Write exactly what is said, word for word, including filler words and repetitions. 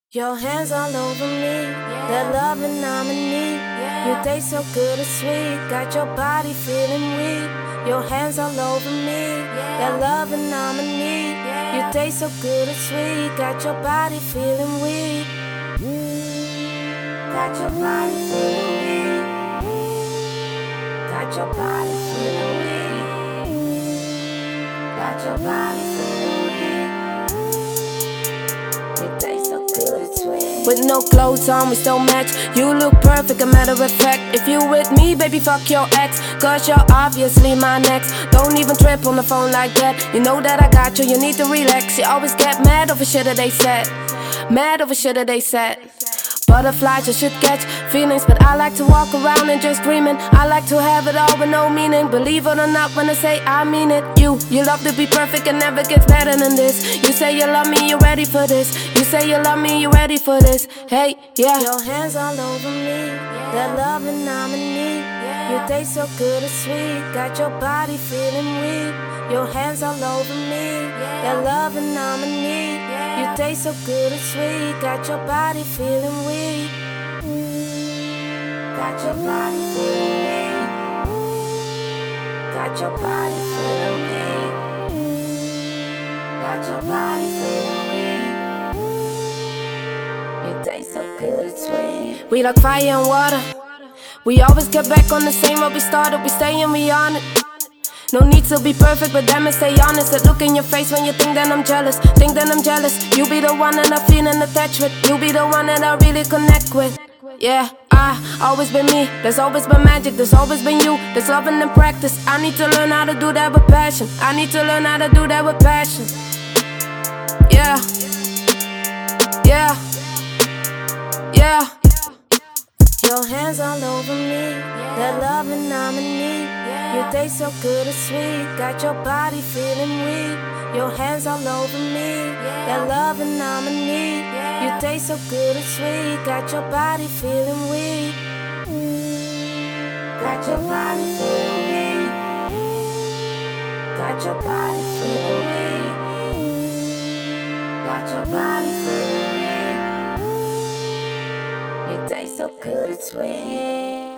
Your hands all over me, that loving I'm in need. You taste so good and sweet, got your body feeling weak. Your hands all over me, that loving I'm in need. You taste so good and sweet, got your body feeling weak. Got your body feeling weak. Got your body feeling weak. Got your body feeling weak. You taste so good and sweet. With no clothes on, we still match. You look perfect, a matter of fact. If you with me, baby, fuck your ex. Cause you're obviously my next. Don't even trip on the phone like that. You know that I got you, you need to relax. You always get mad over shit that they said. Mad over shit that they said. Butterflies, you should catch feelings, but I like to walk around and just dreaming. I like to have it all with no meaning. Believe it or not when I say I mean it. You, you love to be perfect and never gets better than this. You say you love me, you ready for this. You say you love me, you ready for this. Hey, yeah. Your hands all over me, that loving I'm in need. You taste so good and sweet, got your body feeling weak. Your hands all over me, that loving I'm in need. You taste so good and sweet, got your body feeling weak. Got your body feeling weak. Got your body feeling weak. Got your body feeling weak. You taste so good and sweet. We like fire and water. We always get back on the same road we started. We stay and we on it. No need to be perfect, but damn it, stay honest. That look in your face when you think that I'm jealous. Think that I'm jealous. You be the one that I feel and attached with. You be the one that I really connect with. Yeah, I always been me. There's always been magic. There's always been you. There's love in the practice. I need to learn how to do that with passion. I need to learn how to do that with passion. Yeah, yeah, yeah. Your hands all over me, that loving I'm in need. You taste so good and sweet, got your body feeling weak. Your hands all over me, that loving I'm in need. You taste so good and sweet, got your body feeling weak. Got your body feeling weak. Got your body feeling weak. Got your body feeling weak. You taste so good and sweet.